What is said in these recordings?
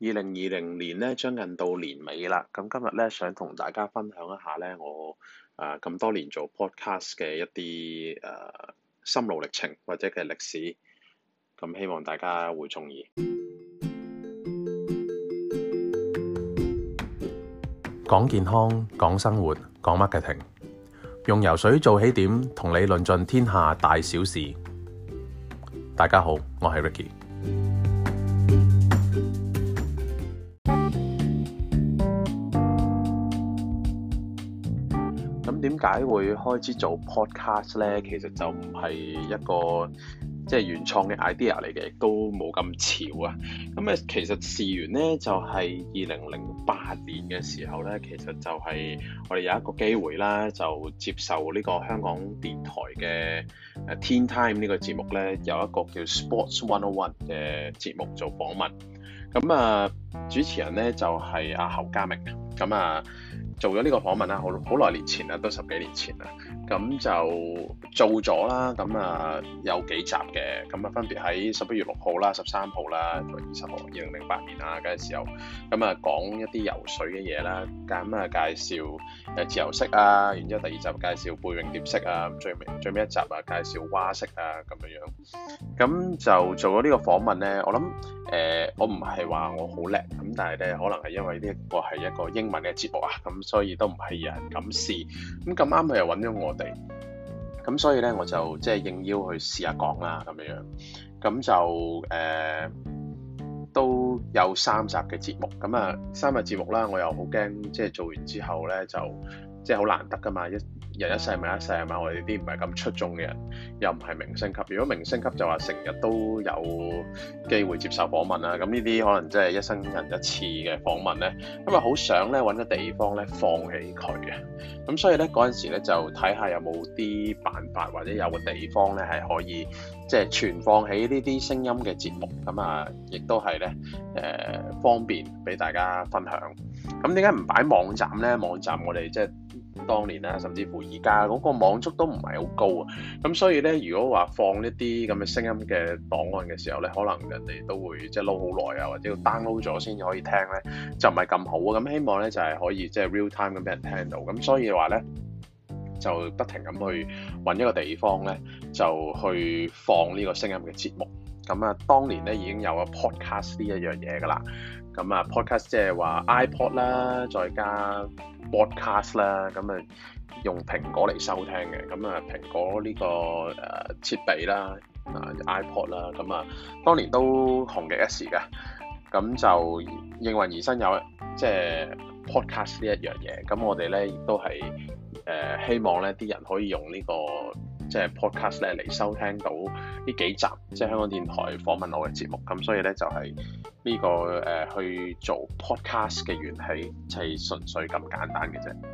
2020年咧將近到年尾啦，咁今日咧想同大家分享一下咧我咁多年做 podcast 嘅一啲心路歷程或者嘅歷史，咁希望大家會鍾意。 講健康，講生活，講 marketing，用游水做起點，同你論盡天下大小事。大家好，我係 Ricky。 咁點解會開始做 podcast 咧？其實就唔係一個原創嘅 idea 嚟嘅，亦都冇咁潮啊。咁其實事緣咧就係2008年嘅時候咧，其實就係我哋有一個機會啦，就接受呢個香港電台嘅Teen Time 呢個節目咧，有一個叫 Sports 101嘅節目做訪問。咁主持人咧就係阿侯家明。咁做咗呢個訪問啦，好耐年前啦，都10幾年前啦。咁就做咗啦，咁有幾集嘅，咁分別喺11月6號啦、13號啦同埋20號，2008年啦嗰陣時候，咁講一啲游水嘅嘢啦，咁介紹自由式啊，然之後第二集介紹背泳蝶式啊，最尾一集介紹蛙式啊咁樣。咁就做咗呢個訪問咧，我諗我唔係話我好叻，咁但係咧可能係因為呢個係一個英文嘅節目啊，咁所以都唔係有人敢試，咁咁啱佢又揾咗我哋，咁所以咧我就應邀去試下講啦咁樣，咁就都有3集嘅節目，咁3集節目啦，我又好驚做完之後咧就好難得噶嘛，人一世物一世係嘛，我哋啲唔係咁出眾嘅人，又唔係明星級。如果明星級就話成日都有機會接受訪問啦，咁呢啲可能一生人一次嘅訪問咧，咁好想咧揾個地方咧放起佢嘅，咁所以咧嗰陣時咧就睇下有冇啲辦法或者有個地方咧係可以存放起呢啲聲音嘅節目，咁亦都係咧方便俾大家分享。咁點解唔擺網站咧？網站我哋當年啦，甚至乎而家嗰個網速都唔係好高啊，咁所以咧，如果話放一啲咁嘅聲音嘅檔案嘅時候咧，可能人哋都會撈好耐啊，或者要 download 咗先至可以聽咧，就唔係咁好啊。咁希望咧就係可以real time 咁俾人聽到，咁所以話咧就不停咁去揾一個地方咧，就去放呢個聲音嘅節目。咁當年咧已經有咗 podcast 呢一樣嘢噶啦，咁podcast 即係話 iPod 啦，再加 broadcast 啦，咁用蘋果嚟收聽嘅，咁蘋果呢個設備啦，iPod 啦，咁當年都紅極一時嘅，咁就應運而生有podcast 呢一樣嘢，咁我哋咧亦都係希望咧啲人可以用呢個podcast 咧嚟收聽到呢幾集香港電台訪問我嘅節目，咁所以咧就係呢個去做 podcast 嘅緣起，係純粹咁簡單嘅啫。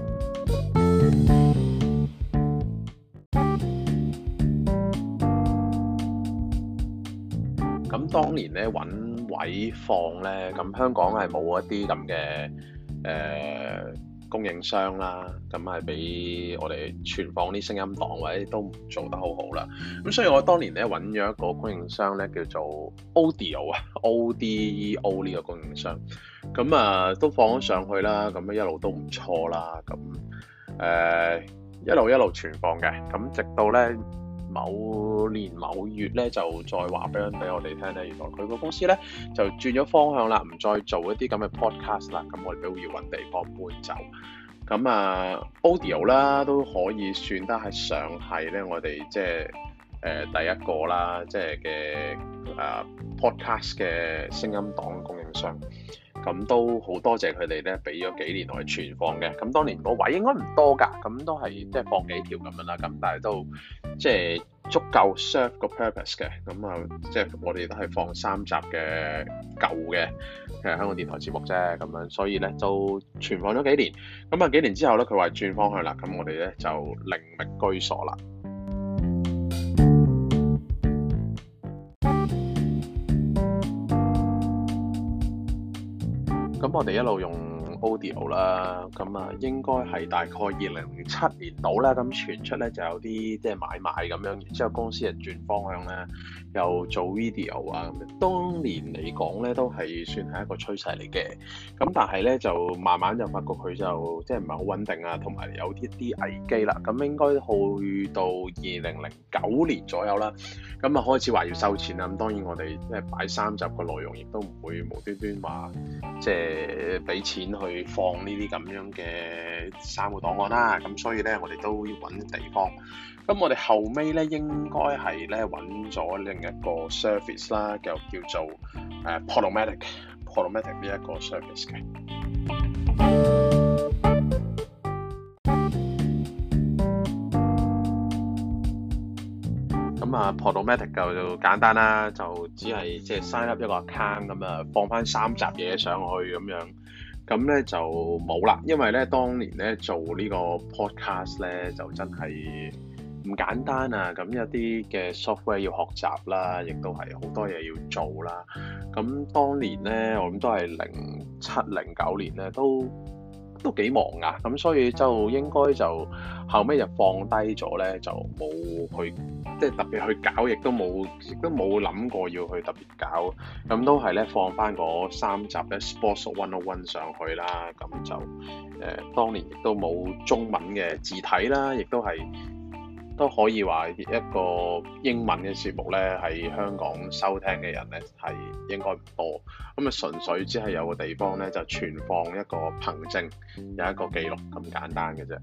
咁當年咧揾位放咧，咁香港係冇一啲咁嘅供應商啦，咁係俾我哋存放啲聲音檔，或者都唔做得好好啦。咁所以我當年咧揾咗一個供應商咧，叫做 Audio ODEO 呢個供應商，咁都放咗上去啦，咁一路都唔錯啦，咁一路存放嘅，咁直到咧某年某月咧就再話俾我哋聽咧，原來佢個公司咧就轉咗方向啦，唔再做一啲咁嘅 podcast 啦，咁我哋都要揾地方搬走。咁Audio 啦都可以算得係上係咧，我哋第一個啦，嘅podcast 嘅聲音檔供應商。咁都好多謝佢哋咧，俾咗幾年我哋存放嘅。咁當年個位應該唔多㗎，咁都係放幾條咁樣啦。咁但係都足夠 serve 個 purpose 嘅。咁我哋都係放3集嘅舊嘅香港電台節目啫。咁樣所以咧就存放咗幾年。咁幾年之後咧，佢話轉方向啦。咁我哋咧就另覓居所啦。咁我哋一路用 audio 啦，咁啊應該係大概2007年到啦，咁傳出咧就有啲即係買賣咁樣，然之後公司就轉方向咧，又做 video 啊咁樣。當年嚟講咧都係算係一個趨勢嚟嘅，咁但係咧就慢慢就發覺佢就即係唔係好穩定啊，同埋有啲危機啦。咁應該去到2009年左右啦，咁啊開始話要收錢啦。咁當然我哋即係擺3集嘅內容，亦都唔會無端端話即係俾錢去放呢啲咁樣嘅3個檔案啦。咁所以咧我哋都要揾地方。咁我哋後尾咧應該係咧揾咗另一個 service 啦，叫做Podomatic 呢一個 service 嘅。咁啊 Podomatic 就簡單啦，就只係即係 sign up 一個 account 咁啊，放翻3集嘢上去咁樣。咁咧就冇啦，因為咧當年咧做呢個 podcast 咧就真係唔簡單啊！咁有啲嘅 software 要學習啦，亦都係好多嘢要做啦。咁當年咧，我諗都係07、09年咧，都幾忙啊。咁所以就應該就後尾就放低咗咧，就冇去即係特別去搞，亦都冇諗過要去特別搞。咁都係咧放翻嗰3集咧 Sports 101上去啦。咁就當年亦都冇中文嘅字體啦，亦都可以話一個英文嘅節目咧，喺香港收聽嘅人咧係應該唔多。咁啊純粹只係有個地方咧就存放一個憑證，有一個記錄咁簡單嘅啫。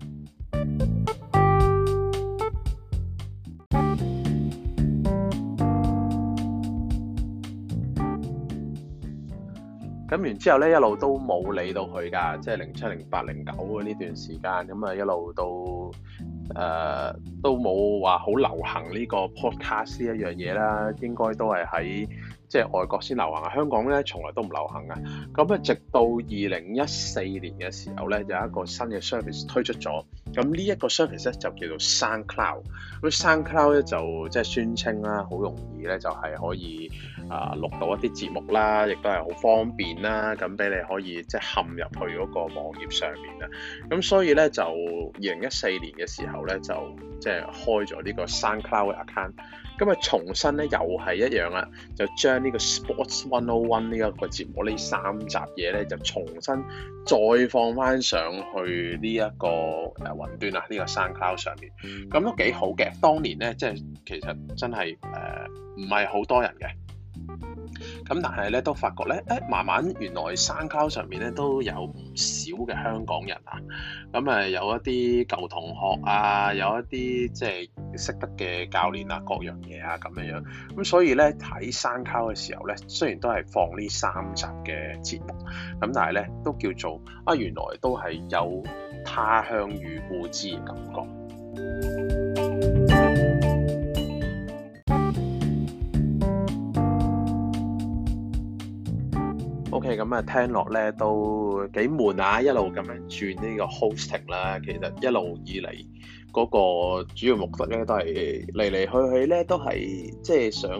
咁完之後咧，一路都冇理到佢㗎，即係07、08、09嘅呢段時間，咁啊一路都冇話好流行呢個 podcast 呢一樣嘢啦，應該都係喺即係外國先流行，香港咧從來都唔流行嘅。咁啊，直到2014年嘅時候咧，有一個新嘅 service 推出咗。咁呢一個 service 咧就叫做 SoundCloud。咁 SoundCloud 咧就即係宣稱啦，好容易咧就係可以錄到一啲節目啦，亦都係好方便啦。咁俾你可以即係嵌入去嗰個網頁上面啦。咁所以咧就2014年嘅時候咧就即係開咗呢個 SoundCloud 嘅 account。咁啊重新咧又係一樣啦，就將呢個 Sports 101呢一個節目呢3集嘢咧就重新再放翻上去呢一個雲端啊，呢個 SoundCloud 上面，咁都幾好嘅。當年咧即係其實真係唔係好多人嘅。咁但係咧都發覺咧，慢慢原來 SoundCloud 上面咧都有唔少嘅香港人啊，咁有一啲舊同學啊，有一啲即係識得嘅教練啊，各樣嘢啊咁樣，咁所以咧睇 SoundCloud 嘅時候咧，雖然都係放呢3集嘅節目，咁但係咧都叫做原來都係有他鄉遇故知嘅感覺。OK， 咁聽落咧都幾悶啊！一路咁樣轉呢個 hosting 啦，其實一路以嚟嗰個主要目的咧都係嚟嚟去咧都係即係想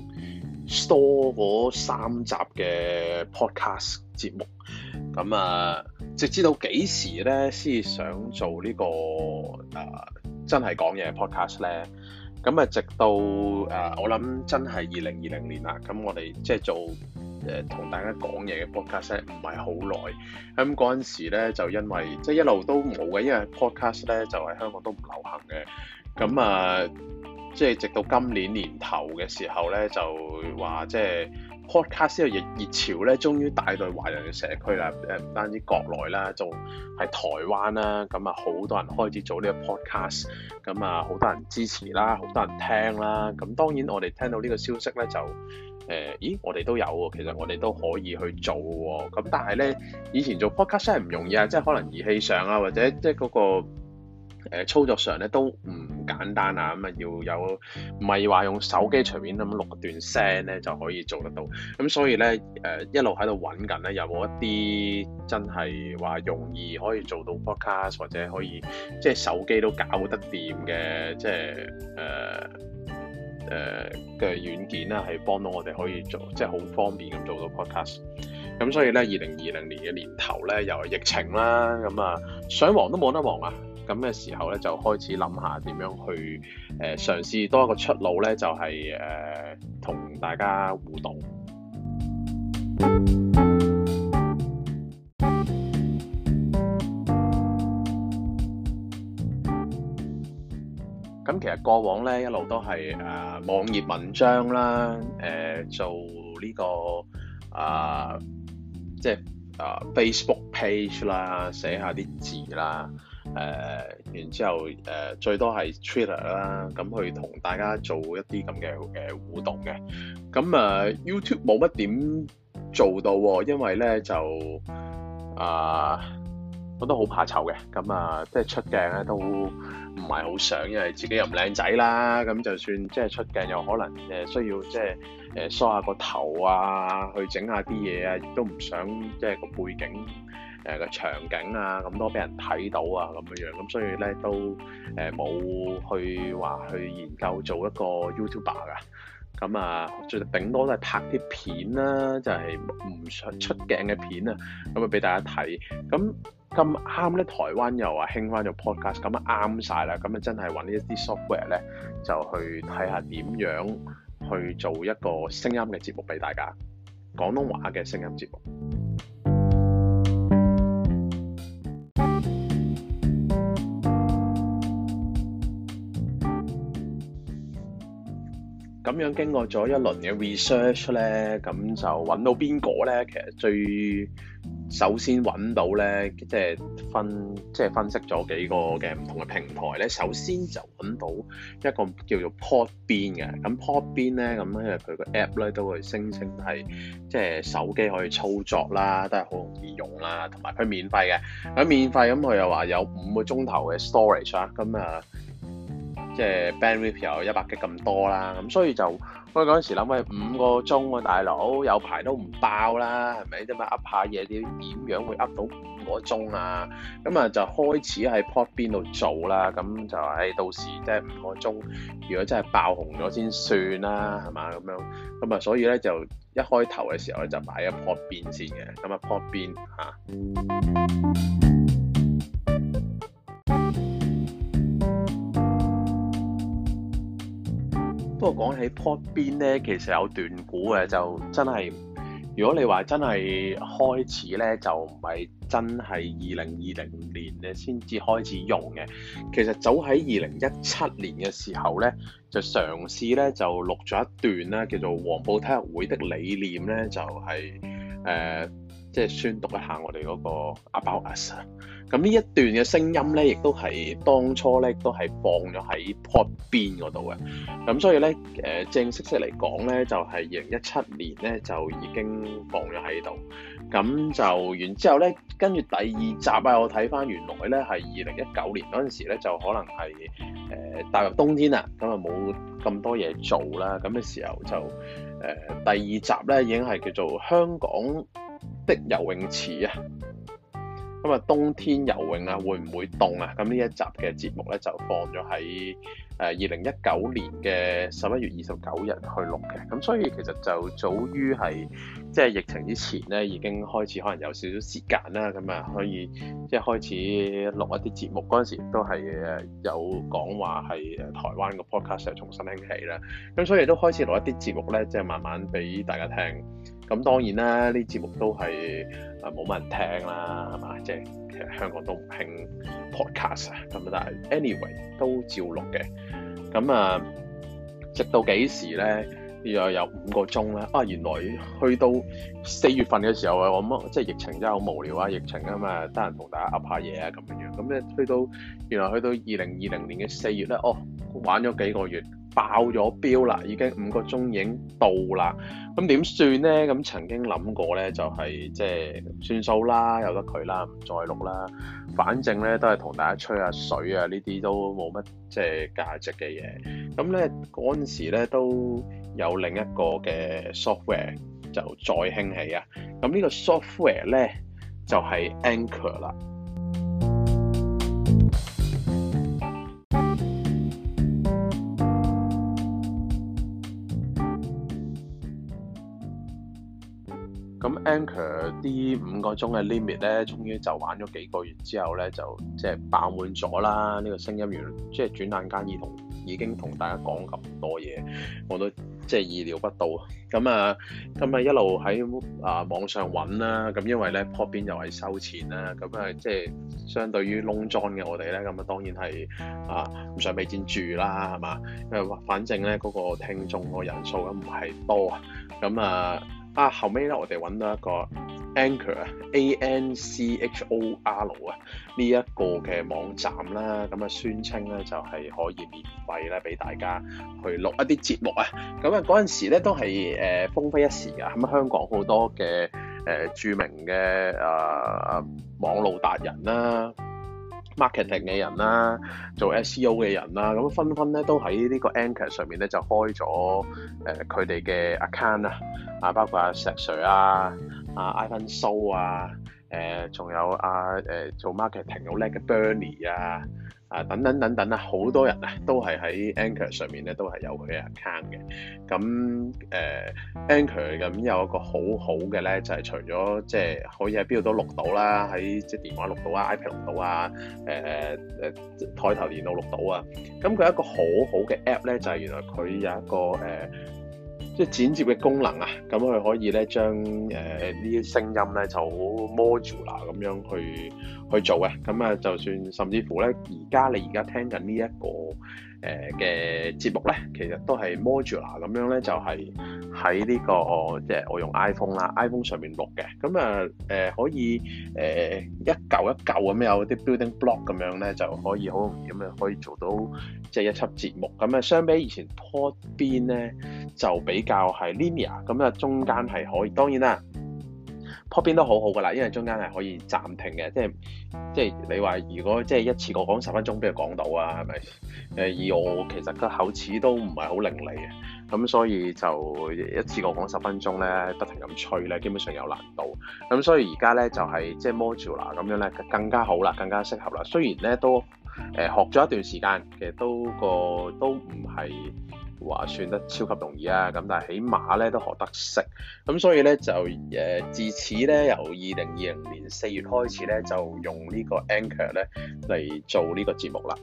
store 嗰3集嘅 podcast 節目。咁直至到幾時咧先想做呢個真係講嘢 podcast 咧？咁直到我諗真係2020年啦，咁我哋即係做同大家講嘢嘅 podcast 唔係好耐，咁嗰陣時咧就因為即係一路都冇嘅，因為 podcast 咧就喺香港都唔流行嘅，咁即係直到今年年頭嘅時候咧就話即係 podcast 呢個熱潮咧，終於帶到華人嘅社區啦，唔單止國內啦，仲係台灣啦，咁好多人開始做呢個 podcast，咁好多人支持啦，好多人聽啦，咁當然我哋聽到呢個消息咧就我哋都有喎，其實我哋都可以去做喎，咁但係咧以前做 podcast 真係唔容易啊，即係可能儀器上啊或者即係嗰個操作上咧都唔簡單啊，咁要有唔係話用手機隨便咁錄一段聲咧就可以做得到，咁所以咧一路喺度揾緊咧，有冇一啲真係話容易可以做到 podcast 或者可以即係手機都搞得掂嘅，即係嘅軟件啦，係幫到我哋可以做即係好方便咁做到 podcast。 咁所以咧2020年嘅年頭咧又係疫情啦，咁啊想忙都冇得忙啊，咁嘅時候咧就開始諗下點樣去嘗試多一個出路咧，就係同大家互動。咁其實過往咧一路都係網頁文章啦，做呢個即係Facebook page 啦，寫下啲字啦，然之後最多係 Twitter 啦，咁去同大家做一啲咁嘅互動嘅。咁YouTube 冇乜點做到喎，因為咧就我都好怕醜嘅，咁即係出鏡咧都唔係好想，因為自己又唔靚仔啦，咁就算即係出鏡又可能需要即係梳下個頭啊，去整下啲嘢啊，亦都唔想即係個背景個場景啊咁多俾人睇到啊咁樣，咁所以咧都冇去話去研究做一個 YouTuber 噶。咁最頂多都係拍啲片啦，就係唔想出鏡嘅片啊，咁俾大家睇。咁啱咧，台灣又話興翻做 podcast，咁啱晒啦。咁真係揾一啲 software 咧，就去睇下點樣去做一個聲音嘅節目俾大家，廣東話嘅聲音節目。咁樣經過咗一輪嘅 research 咧，咁就揾到邊個咧？其實首先揾到咧，即係分析咗幾個嘅唔同嘅平台咧。首先就揾到一個叫做 Podbean 嘅。咁 Podbean 咧，咁因為佢個 app 咧都會聲稱係即係手機可以操作啦，都係好容易用啦，同埋佢免費嘅。咁免費咁佢又話有5個鐘頭嘅 storage 啦，咁即係 bandwidth 有100G 咁多啦，咁所以就我嗰陣時諗喂5個鐘喎，大佬有排都唔爆啦，係咪啫嘛？噏下嘢點樣會噏到5個鐘啊？咁就開始喺 Podbean 度做啦，咁就到時即係5個鐘，如果真係爆紅咗先算啦，係嘛咁樣？咁所以咧就一開頭嘅時候咧就擺咗 Podbean 先嘅，咁Podbean 不過講起 Podbean 咧，其實有段估嘅，就真係如果你話真係開始咧，就唔係真係2020年咧先至開始用嘅。其實早喺2017年嘅時候咧，就嘗試咧就錄咗一段啦，叫做《黃埔體育會的理念》咧，就係即係宣讀一下我哋嗰個 About Us。咁呢一段嘅聲音咧，亦都係當初咧都係放咗喺 Podbean 嗰度嘅。咁所以咧，正式嚟講咧，就係2017年咧就已經放咗喺度。咁就完之後咧，跟住第二集我睇翻原來咧係2019年嗰陣時咧，就可能係踏入冬天啦，咁冇咁多嘢做啦。咁嘅時候就第二集咧已經係叫做香港的游泳池啊。咁冬天游泳啊，會唔會凍啊？咁呢一集嘅節目咧就放咗喺2019年嘅11月29日去錄嘅。咁所以其實就早於係即係疫情之前咧，已經開始可能有少少時間啦，咁可以即係開始錄一啲節目。嗰陣時都係有講話係台灣個 podcast 重新興起啦。咁所以都開始錄一啲節目咧，即係慢慢俾大家聽。咁當然啦，呢節目都係冇乜人聽啦，係嘛？即係其實香港都唔興 podcast 啊，咁但係 anyway 都照錄嘅。咁直到幾時咧？又有5個鐘啦。原來去到4月份嘅時候我諗即係疫情真係好無聊啊！疫情啊嘛，得閒同大家噏下嘢啊咁樣。咁咧原來去到2020年嘅4月咧，玩咗幾個月，爆咗標啦，已經5個鐘已經到啦。咁點算咧？咁曾經諗過咧，就係即係算數啦，由得佢啦，唔再錄啦。反正咧都係同大家吹下水啊，呢啲都冇乜即係價值嘅嘢。咁咧嗰陣時咧都有另一個嘅 software 就再興起啊。咁呢個 software 咧就係 Anchor 啦。咁 Anchor 啲5個鐘嘅 limit 咧，終於就玩咗幾個月之後咧，就即係爆滿咗啦。呢個聲音源即係轉眼間已經同大家講咁多嘢，我都即係意料不到。咁啊一路喺網上揾啦，咁因為咧 Podbean 又係收錢啦，咁啊即係相對於窿裝嘅我哋咧，咁啊當然係唔想俾錢住啦，係嘛？反正咧嗰個聽眾個人數咁唔係多啊，咁後尾咧我哋揾到一個 Anchor Anchor 呢一個嘅網站啦，咁宣稱咧就係可以免費咧俾大家去錄一啲節目啊，咁嗰陣時咧都係風飛一時噶，咁香港好多嘅著名嘅網路達人啦、marketing 嘅人啦、做 SEO 嘅人啦，咁紛紛咧都喺呢個 Anchor 上面咧就開咗佢哋嘅 account 包括石 Sir Ivan So 仲有做 marketing 好叻嘅 Bernie 等等好多人都係喺 Anchor 上面咧都係有佢嘅 account 嘅。咁Anchor 咁有一個好好嘅咧，就係除咗即係可以喺邊度都錄到啦，喺即係電話錄到iPad 錄到台頭電腦錄到啊。咁佢一個好好嘅 app 咧，就係原來佢有一個即係剪接嘅功能啊，咁佢可以咧將呢啲聲音咧就好 modular 咁樣去做嘅，咁就算甚至乎咧，你而家聽緊呢一個嘅節目咧，其實都係 modular 咁樣咧，就係喺呢個即係我用 iPhone 啦 ，iPhone 上面錄嘅，咁可以一嚿一嚿咁有啲 building block 咁樣咧，就可以好容易咁樣可以做到即係一輯節目。咁相比以前 Podbean 咧就比較係 linear， 咁中間係可以，當然啦。Podbean 都好好噶啦，因為中間係可以暫停嘅，即係你話如果即係一次過講10分鐘，俾佢講到啊，係咪？以我其實個口齒都唔係好伶俐嘅，咁所以就一次過講10分鐘咧，不停咁吹咧，基本上有難度。咁所以而家咧就係即係 modular 咁樣咧，更加好啦，更加適合啦。雖然咧都學咗一段時間，其實都唔係話算得超級容易啊，咁但係起碼咧都學得識，咁所以咧就自此咧由2020年4月開始咧就用呢個 Anchor 咧嚟做呢個節目啦。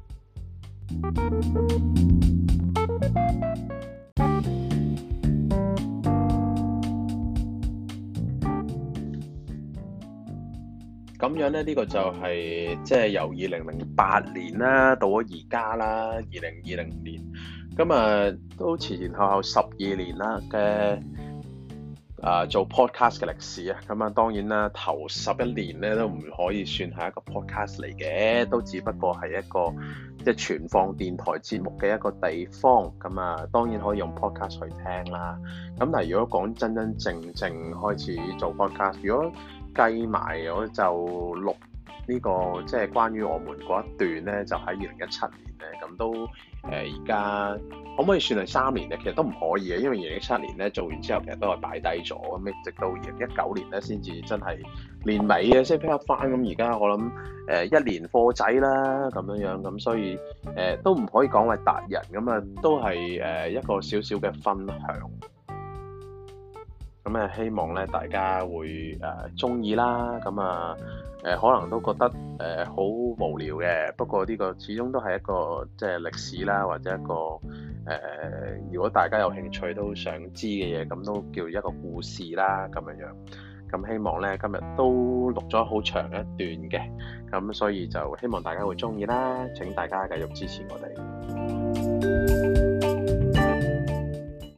咁樣咧，呢個就係即係由2008年啦，到咗而家啦，2020年，咁都前後12年啦嘅做 podcast 嘅歷史啊。咁當然啦，頭11年咧都唔可以算係一個 podcast 嚟嘅，都只不過係一個即係存放電台節目嘅一個地方。咁當然可以用 podcast 去聽啦。咁但係如果講真真正正開始做 podcast，如果計埋我就錄呢個即係關於我們嗰一段咧，就喺2017年咧，咁都而家可唔可以算係3年咧？其實都唔可以嘅，因為2017年咧做完之後，其實都係擺低咗，咁直到2019年咧先至真係年尾嘅先 pick up 翻。咁而家我諗1年貨仔啦咁樣，咁所以都唔可以講為達人，咁都係一個少少嘅分享。咁希望咧大家會中意啦，咁可能都覺得好無聊嘅，不過呢個始終都係一個即係歷史啦，或者一個如果大家有興趣都想知嘅嘢，咁都叫一個故事啦咁樣。咁希望咧今日都錄咗好長一段嘅，咁所以就希望大家會中意啦，請大家繼續支持我哋。